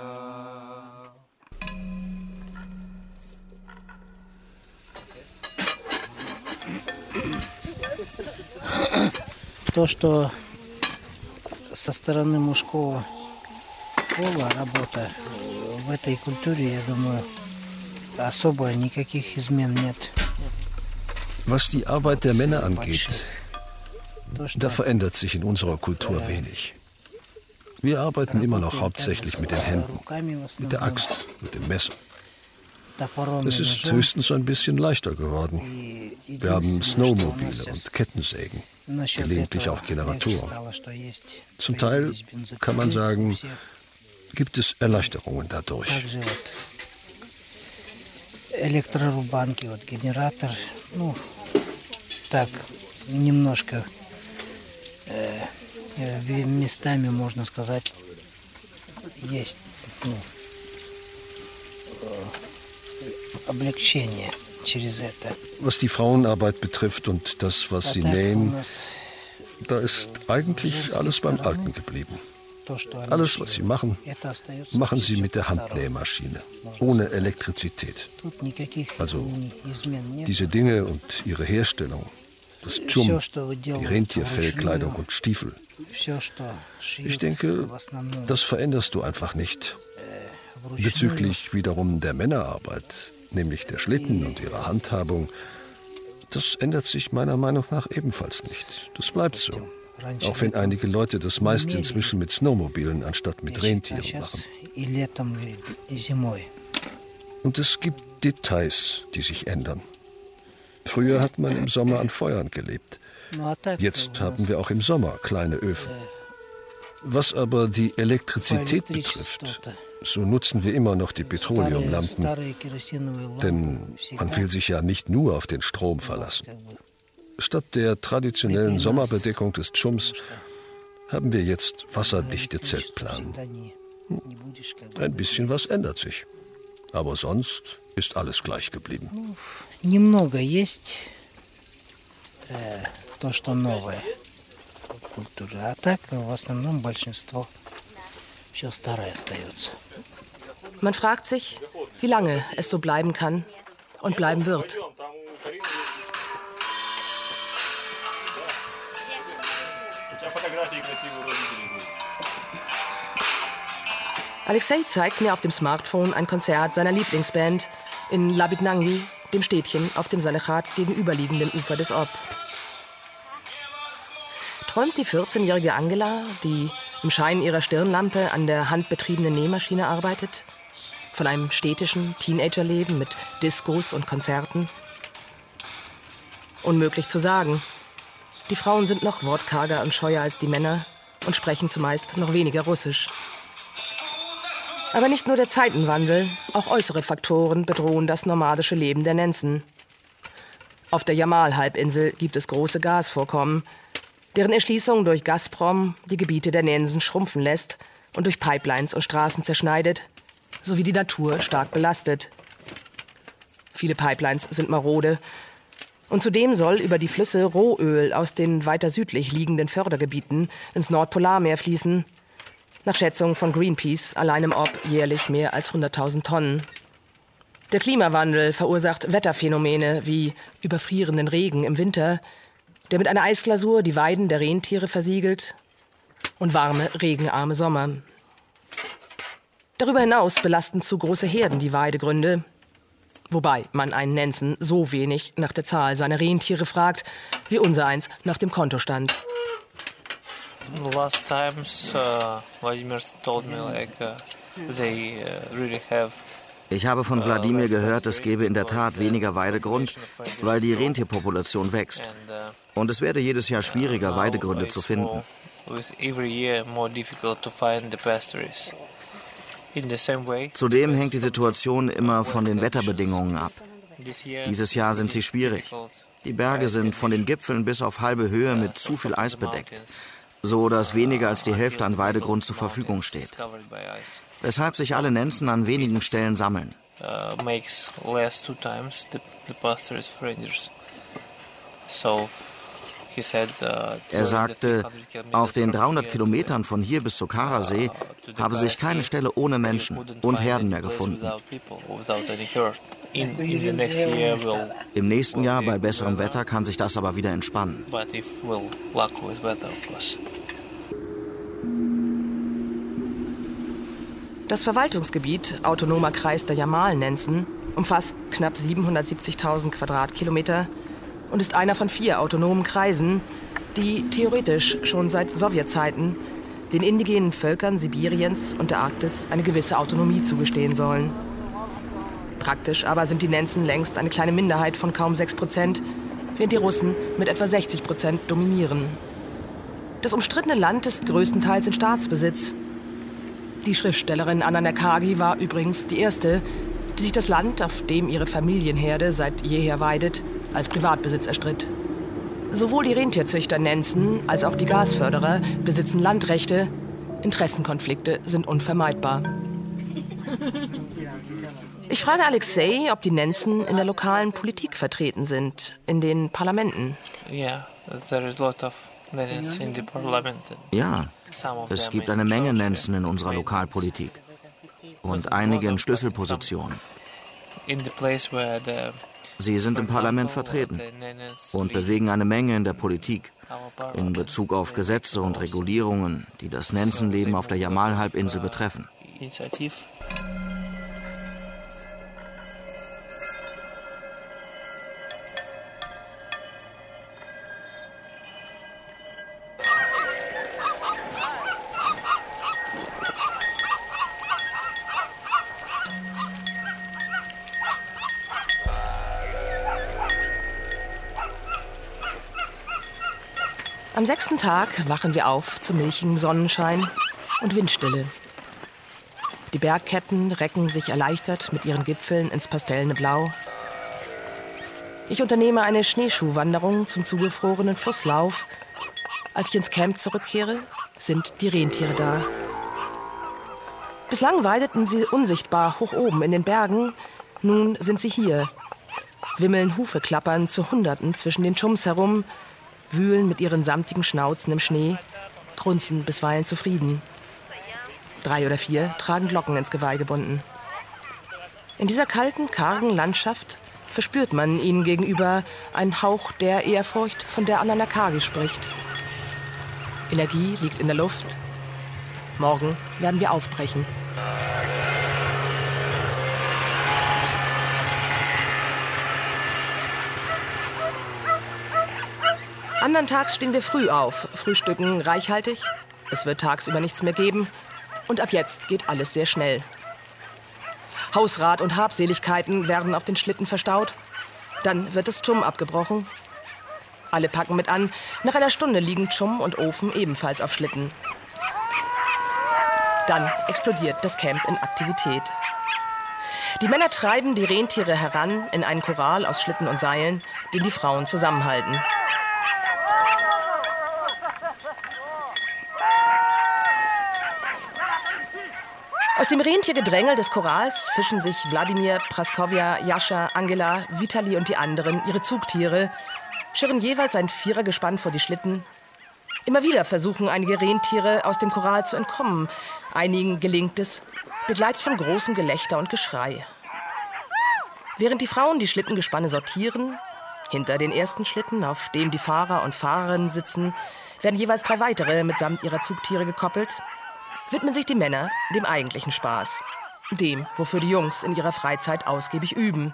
[SPEAKER 9] То, что со стороны мужского пола работа в этой культуре, я думаю, особо никаких измен нет.
[SPEAKER 10] Was die Arbeit der Männer angeht, da verändert sich in unserer Kultur wenig. Wir arbeiten immer noch hauptsächlich mit den Händen, mit der Axt, mit dem Messer. Es ist höchstens ein bisschen leichter geworden. Wir haben Snowmobile und Kettensägen, gelegentlich auch Generatoren. Zum Teil, kann man sagen, gibt es Erleichterungen dadurch.
[SPEAKER 9] Электрорубанки, вот генератор, ну, так, немножко э, местами, можно сказать, есть, ну, э, облегчение через это.
[SPEAKER 10] Was die Frauenarbeit betrifft und das, was sie nähen, da ist eigentlich alles beim Alten geblieben. Alles, was sie machen, machen sie mit der Handnähmaschine, ohne Elektrizität. Also diese Dinge und ihre Herstellung, das Chum, die Rentierfellkleidung und Stiefel. Ich denke, das veränderst du einfach nicht. Bezüglich wiederum der Männerarbeit, nämlich der Schlitten und ihrer Handhabung, das ändert sich meiner Meinung nach ebenfalls nicht. Das bleibt so. Auch wenn einige Leute das meist inzwischen mit Snowmobilen anstatt mit Rentieren machen. Und es gibt Details, die sich ändern. Früher hat man im Sommer an Feuern gelebt. Jetzt haben wir auch im Sommer kleine Öfen. Was aber die Elektrizität betrifft, so nutzen wir immer noch die Petroleumlampen, denn man will sich ja nicht nur auf den Strom verlassen. Statt der traditionellen Sommerbedeckung des Chums haben wir jetzt wasserdichte Zeltplanen. Hm. Ein bisschen was ändert sich, aber sonst ist alles gleich geblieben.
[SPEAKER 9] Немного есть то, что новое культура, а так в основном большинство все старое остается.
[SPEAKER 4] Man fragt sich, wie lange es so bleiben kann und bleiben wird. Alexei zeigt mir auf dem Smartphone ein Konzert seiner Lieblingsband in Labitnangi, dem Städtchen auf dem Salechat gegenüberliegenden Ufer des Ob. Träumt die vierzehnjährige Angela, die im Schein ihrer Stirnlampe an der handbetriebenen Nähmaschine arbeitet, von einem städtischen Teenagerleben mit Diskos und Konzerten? Unmöglich zu sagen. Die Frauen sind noch wortkarger und scheuer als die Männer und sprechen zumeist noch weniger Russisch. Aber nicht nur der Zeitenwandel, auch äußere Faktoren bedrohen das nomadische Leben der Nenzen. Auf der Jamal-Halbinsel gibt es große Gasvorkommen, deren Erschließung durch Gazprom die Gebiete der Nenzen schrumpfen lässt und durch Pipelines und Straßen zerschneidet, sowie die Natur stark belastet. Viele Pipelines sind marode. Und zudem soll über die Flüsse Rohöl aus den weiter südlich liegenden Fördergebieten ins Nordpolarmeer fließen. Nach Schätzung von Greenpeace allein im Ob jährlich mehr als hunderttausend Tonnen. Der Klimawandel verursacht Wetterphänomene wie überfrierenden Regen im Winter, der mit einer Eisglasur die Weiden der Rentiere versiegelt, und warme, regenarme Sommer. Darüber hinaus belasten zu große Herden die Weidegründe, wobei man einen Nenzen so wenig nach der Zahl seiner Rentiere fragt, wie unsereins nach dem Kontostand.
[SPEAKER 6] Last times, uh, Vladimir told me like uh, they uh, really have.
[SPEAKER 5] Ich habe von Wladimir gehört, es gebe in der Tat weniger Weidegrund, weil die Rentierpopulation wächst. Und es werde jedes Jahr schwieriger, Weidegründe zu finden. Zudem hängt die Situation immer von den Wetterbedingungen ab. Dieses Jahr sind sie schwierig. Die Berge sind von den Gipfeln bis auf halbe Höhe mit zu viel Eis bedeckt, so dass weniger als die Hälfte an Weidegrund zur Verfügung steht. Weshalb sich alle Nenzen an wenigen Stellen sammeln. Er sagte, auf den dreihundert Kilometern von hier bis zur Karasee habe sich keine Stelle ohne Menschen und Herden mehr gefunden. Im nächsten Jahr bei besserem Wetter kann sich das aber wieder entspannen.
[SPEAKER 4] Das Verwaltungsgebiet Autonomer Kreis der Jamal-Nenzen umfasst knapp siebenhundertsiebzigtausend Quadratkilometer und ist einer von vier autonomen Kreisen, die theoretisch schon seit Sowjetzeiten den indigenen Völkern Sibiriens und der Arktis eine gewisse Autonomie zugestehen sollen. Praktisch aber sind die Nenzen längst eine kleine Minderheit von kaum sechs Prozent, während die Russen mit etwa sechzig Prozent dominieren. Das umstrittene Land ist größtenteils in Staatsbesitz. Die Schriftstellerin Anna Nerkagi war übrigens die erste, die sich das Land, auf dem ihre Familienherde seit jeher weidet, als Privatbesitz erstritt. Sowohl die Rentierzüchter Nenzen als auch die Gasförderer besitzen Landrechte. Interessenkonflikte sind unvermeidbar. Ich frage Alexei, ob die Nenzen in der lokalen Politik vertreten sind, in den Parlamenten.
[SPEAKER 6] Yeah, there is a lot of Nenzen in the parliament.
[SPEAKER 5] Ja, es gibt eine Menge Nenzen in unserer Lokalpolitik und einige in Schlüsselpositionen. Sie sind im Parlament vertreten und bewegen eine Menge in der Politik in Bezug auf Gesetze und Regulierungen, die das Nenzenleben auf der Jamal-Halbinsel betreffen.
[SPEAKER 4] Am sechsten Tag wachen wir auf zu milchigem Sonnenschein und Windstille. Die Bergketten recken sich erleichtert mit ihren Gipfeln ins pastellne Blau. Ich unternehme eine Schneeschuhwanderung zum zugefrorenen Flusslauf. Als ich ins Camp zurückkehre, sind die Rentiere da. Bislang weideten sie unsichtbar hoch oben in den Bergen. Nun sind sie hier, wimmeln Hufeklappern zu Hunderten zwischen den Tschums herum, wühlen mit ihren samtigen Schnauzen im Schnee, grunzen bisweilen zufrieden. Drei oder vier tragen Glocken ins Geweih gebunden. In dieser kalten, kargen Landschaft verspürt man ihnen gegenüber einen Hauch der Ehrfurcht, von der Anna Nerkagi spricht. Energie liegt in der Luft. Morgen werden wir aufbrechen. Andern Tags stehen wir früh auf, frühstücken reichhaltig. Es wird tagsüber nichts mehr geben. Und ab jetzt geht alles sehr schnell. Hausrat und Habseligkeiten werden auf den Schlitten verstaut. Dann wird das Tschum abgebrochen. Alle packen mit an. Nach einer Stunde liegen Tschum und Ofen ebenfalls auf Schlitten. Dann explodiert das Camp in Aktivität. Die Männer treiben die Rentiere heran in einen Korral aus Schlitten und Seilen, den die Frauen zusammenhalten. Aus dem Rentiergedrängel des Korals fischen sich Wladimir, Praskovja, Jascha, Angela, Vitali und die anderen ihre Zugtiere, schirren jeweils ein Vierergespann vor die Schlitten. Immer wieder versuchen einige Rentiere aus dem Korral zu entkommen. Einigen gelingt es, begleitet von großem Gelächter und Geschrei. Während die Frauen die Schlittengespanne sortieren, hinter den ersten Schlitten, auf dem die Fahrer und Fahrerinnen sitzen, werden jeweils drei weitere mitsamt ihrer Zugtiere gekoppelt, widmen sich die Männer dem eigentlichen Spaß. Dem, wofür die Jungs in ihrer Freizeit ausgiebig üben.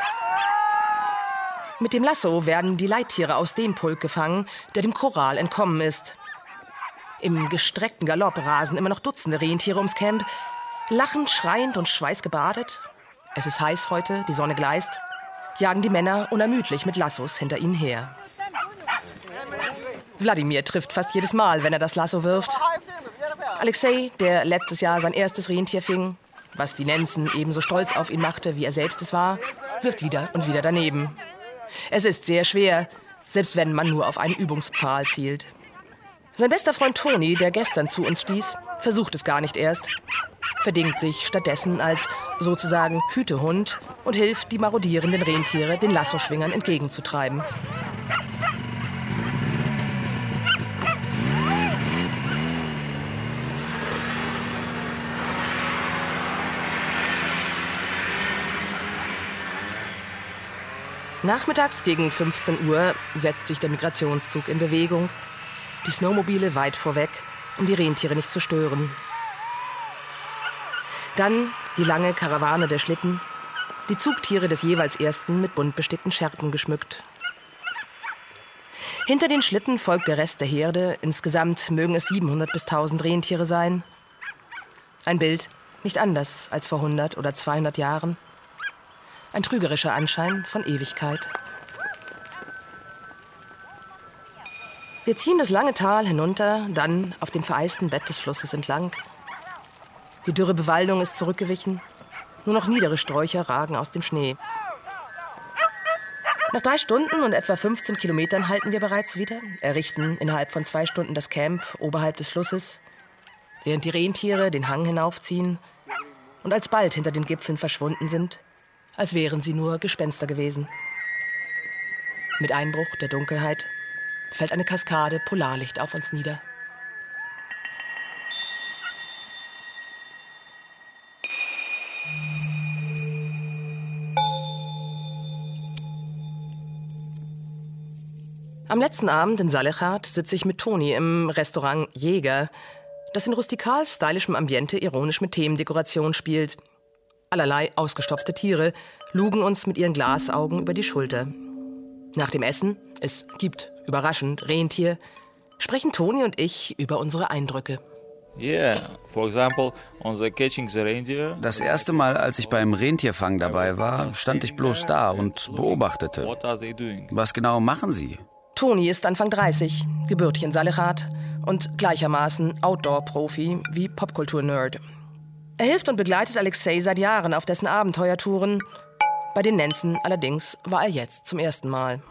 [SPEAKER 4] Mit dem Lasso werden die Leittiere aus dem Pulk gefangen, der dem Korral entkommen ist. Im gestreckten Galopp rasen immer noch Dutzende Rentiere ums Camp, lachend, schreiend und schweißgebadet. Es ist heiß heute, die Sonne gleißt, jagen die Männer unermüdlich mit Lassos hinter ihnen her. Wladimir trifft fast jedes Mal, wenn er das Lasso wirft. Alexei, der letztes Jahr sein erstes Rentier fing, was die Nenzen ebenso stolz auf ihn machte, wie er selbst es war, wirft wieder und wieder daneben. Es ist sehr schwer, selbst wenn man nur auf einen Übungspfahl zielt. Sein bester Freund Toni, der gestern zu uns stieß, versucht es gar nicht erst, verdingt sich stattdessen als sozusagen Hütehund und hilft, die marodierenden Rentiere den Lassoschwingern entgegenzutreiben. Nachmittags gegen fünfzehn Uhr setzt sich der Migrationszug in Bewegung. Die Snowmobile weit vorweg, um die Rentiere nicht zu stören. Dann die lange Karawane der Schlitten, die Zugtiere des jeweils ersten mit bunt bestickten Schärpen geschmückt. Hinter den Schlitten folgt der Rest der Herde, insgesamt mögen es siebenhundert bis tausend Rentiere sein. Ein Bild, nicht anders als vor hundert oder zweihundert Jahren. Ein trügerischer Anschein von Ewigkeit. Wir ziehen das lange Tal hinunter, dann auf dem vereisten Bett des Flusses entlang. Die dürre Bewaldung ist zurückgewichen. Nur noch niedere Sträucher ragen aus dem Schnee. Nach drei Stunden und etwa fünfzehn Kilometern halten wir bereits wieder, errichten innerhalb von zwei Stunden das Camp oberhalb des Flusses, während die Rentiere den Hang hinaufziehen und alsbald hinter den Gipfeln verschwunden sind, als wären sie nur Gespenster gewesen. Mit Einbruch der Dunkelheit fällt eine Kaskade Polarlicht auf uns nieder. Am letzten Abend in Salekhard sitze ich mit Toni im Restaurant Jäger, das in rustikal stylischem Ambiente ironisch mit Themendekoration spielt. Allerlei ausgestopfte Tiere lugen uns mit ihren Glasaugen über die Schulter. Nach dem Essen, es gibt, überraschend, Rentier, sprechen Toni und ich über unsere Eindrücke.
[SPEAKER 12] Das erste Mal, als ich beim Rentierfang dabei war, stand ich bloß da und beobachtete. Was genau machen Sie?
[SPEAKER 4] Toni ist Anfang dreißig, gebürtig in Salekhard und gleichermaßen Outdoor-Profi wie Popkultur-Nerd. Er hilft und begleitet Alexei seit Jahren auf dessen Abenteuertouren. Bei den Nenzen allerdings war er jetzt zum ersten Mal.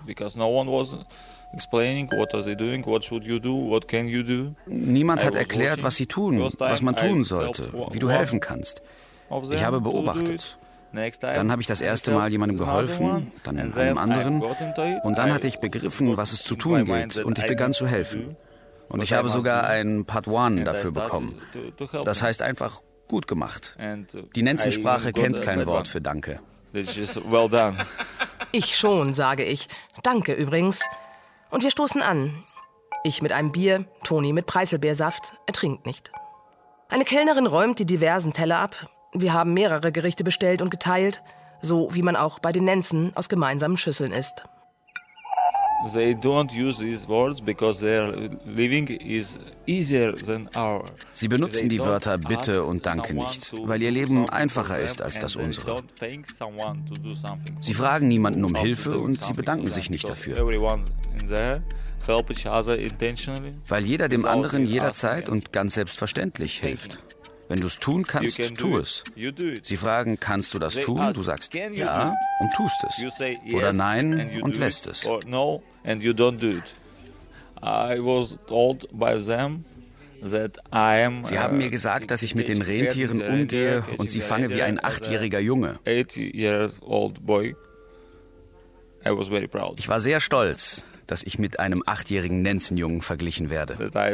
[SPEAKER 12] Niemand hat erklärt, was sie tun, was man tun sollte, wie du helfen kannst. Ich habe beobachtet. Dann habe ich das erste Mal jemandem geholfen, dann einem anderen. Und dann hatte ich begriffen, was es zu tun gilt, und ich begann zu helfen. Und ich habe sogar ein Padawan dafür bekommen. Das heißt einfach gut gemacht. Die Nenzensprache kennt kein Wort für Danke.
[SPEAKER 4] Ich schon, sage ich. Danke übrigens. Und wir stoßen an. Ich mit einem Bier, Toni mit Preiselbeersaft. Er trinkt nicht. Eine Kellnerin räumt die diversen Teller ab. Wir haben mehrere Gerichte bestellt und geteilt, so wie man auch bei den Nenzen aus gemeinsamen Schüsseln isst.
[SPEAKER 12] Sie benutzen die Wörter Bitte und Danke nicht, weil ihr Leben einfacher ist als das unsere. Sie fragen niemanden um Hilfe und sie bedanken sich nicht dafür. Weil jeder dem anderen jederzeit und ganz selbstverständlich hilft. Wenn du es tun kannst, tu es. Sie fragen, kannst du das tun? Du sagst ja und tust es. Oder nein und lässt es. Sie haben mir gesagt, dass ich mit den Rentieren umgehe und sie fange wie ein achtjähriger Junge. Ich war sehr stolz, dass ich mit einem achtjährigen Nenzenjungen verglichen werde.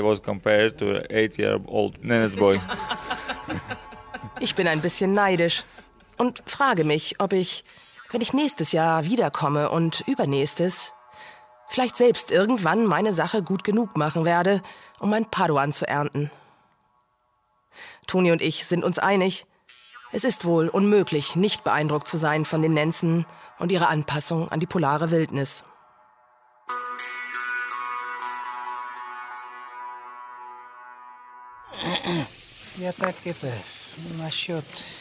[SPEAKER 4] Ich bin ein bisschen neidisch und frage mich, ob ich, wenn ich nächstes Jahr wiederkomme und übernächstes, vielleicht selbst irgendwann meine Sache gut genug machen werde, um mein Paduan zu ernten. Toni und ich sind uns einig, es ist wohl unmöglich, nicht beeindruckt zu sein von den Nenzen und ihrer Anpassung an die polare Wildnis.
[SPEAKER 9] Я так это насчет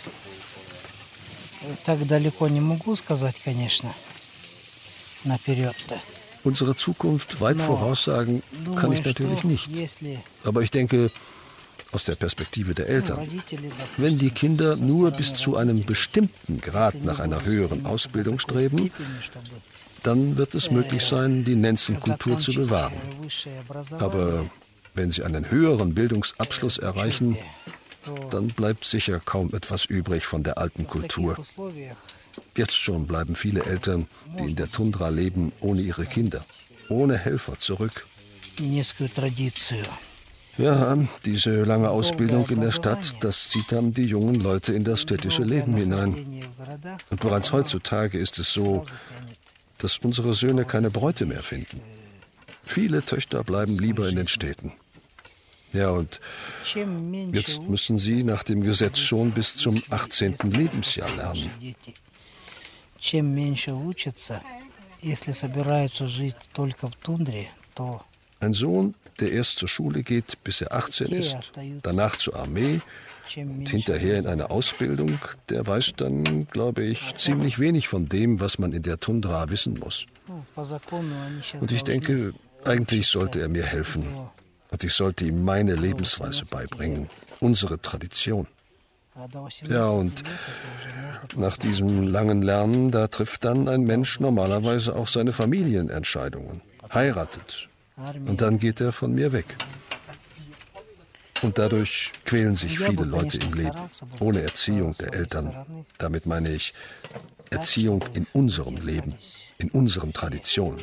[SPEAKER 9] так далеко не могу сказать, конечно, наперед-то.
[SPEAKER 10] Unsere Zukunft weit voraussagen kann ich natürlich nicht. Aber ich denke, aus der Perspektive der Eltern, wenn die Kinder nur bis zu einem bestimmten Grad nach einer höheren Ausbildung streben, dann wird es möglich sein, die Nenzenkultur zu bewahren. Aber wenn sie einen höheren Bildungsabschluss erreichen, dann bleibt sicher kaum etwas übrig von der alten Kultur. Jetzt schon bleiben viele Eltern, die in der Tundra leben, ohne ihre Kinder, ohne Helfer zurück. Ja, diese lange Ausbildung in der Stadt, das zieht dann die jungen Leute in das städtische Leben hinein. Und bereits heutzutage ist es so, dass unsere Söhne keine Bräute mehr finden. Viele Töchter bleiben lieber in den Städten. Ja, und jetzt müssen sie nach dem Gesetz schon bis zum achtzehnten Lebensjahr lernen. Ein Sohn, der erst zur Schule geht, bis er achtzehn ist, danach zur Armee und hinterher in eine Ausbildung, der weiß dann, glaube ich, ziemlich wenig von dem, was man in der Tundra wissen muss. Und ich denke, eigentlich sollte er mir helfen. Und ich sollte ihm meine Lebensweise beibringen, unsere Tradition. Ja, und nach diesem langen Lernen, da trifft dann ein Mensch normalerweise auch seine Familienentscheidungen, heiratet. Und dann geht er von mir weg. Und dadurch quälen sich viele Leute im Leben, ohne Erziehung der Eltern. Damit meine ich Erziehung in unserem Leben, in unseren Traditionen.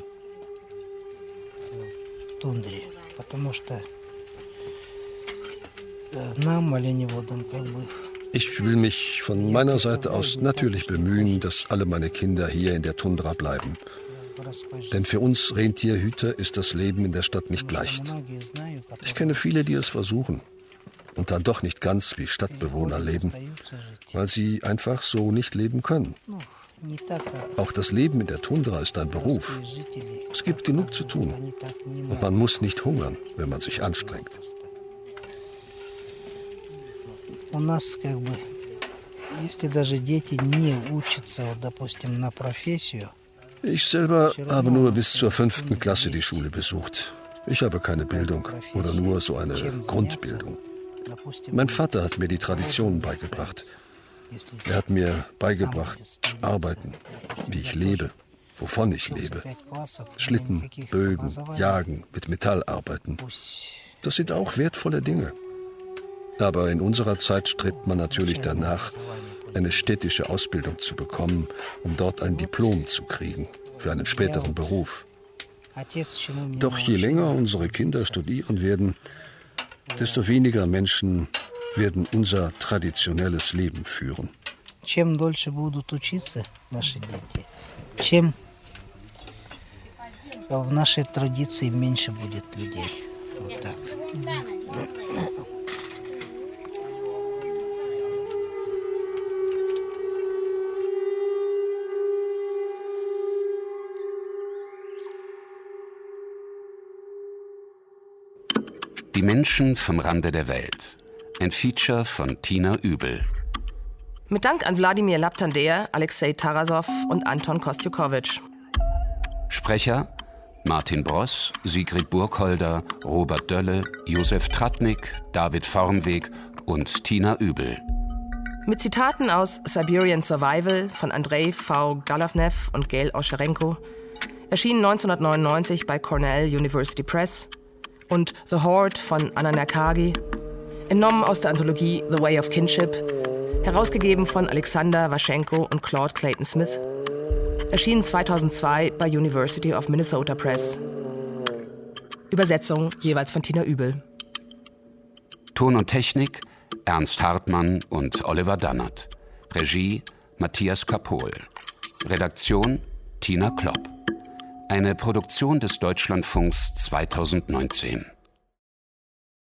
[SPEAKER 10] Ich will mich von meiner Seite aus natürlich bemühen, dass alle meine Kinder hier in der Tundra bleiben. Denn für uns Rentierhüter ist das Leben in der Stadt nicht leicht. Ich kenne viele, die es versuchen und dann doch nicht ganz wie Stadtbewohner leben, weil sie einfach so nicht leben können. Auch das Leben in der Tundra ist ein Beruf. Es gibt genug zu tun und man muss nicht hungern, wenn man sich anstrengt. Ich selber habe nur bis zur fünften Klasse die Schule besucht. Ich habe keine Bildung oder nur so eine Grundbildung. Mein Vater hat mir die Traditionen beigebracht. Er hat mir beigebracht, zu arbeiten, wie ich lebe, wovon ich lebe. Schlitten, Bögen, Jagen, mit Metall arbeiten. Das sind auch wertvolle Dinge. Aber in unserer Zeit strebt man natürlich danach, eine städtische Ausbildung zu bekommen, um dort ein Diplom zu kriegen für einen späteren Beruf. Doch je länger unsere Kinder studieren werden, desto weniger Menschen werden unser traditionelles Leben führen.
[SPEAKER 9] Чем дольше будут учиться наши дети, чем в нашей традиции меньше будет людей. Вот так.
[SPEAKER 3] Die Menschen vom Rande der Welt. Ein Feature von Tina Übel.
[SPEAKER 4] Mit Dank an Wladimir Laptander, Alexei Tarasow und Anton Kostjukowitsch.
[SPEAKER 3] Sprecher Martin Bross, Sigrid Burkholder, Robert Dölle, Josef Tratnik, David Vormweg und Tina Übel.
[SPEAKER 4] Mit Zitaten aus Siberian Survival von Andrei V. Galavnev und Gail Oscherenko, erschienen neunzehnhundertneunundneunzig bei Cornell University Press, und The Horde von Anna Nerkagi, entnommen aus der Anthologie The Way of Kinship, herausgegeben von Alexander Waschenko und Claude Clayton Smith, erschienen zweitausendzwei bei University of Minnesota Press. Übersetzung jeweils von Tina Übel.
[SPEAKER 3] Ton und Technik Ernst Hartmann und Oliver Dannert. Regie Matthias Kapohl. Redaktion Tina Klopp. Eine Produktion des Deutschlandfunks zweitausendneunzehn.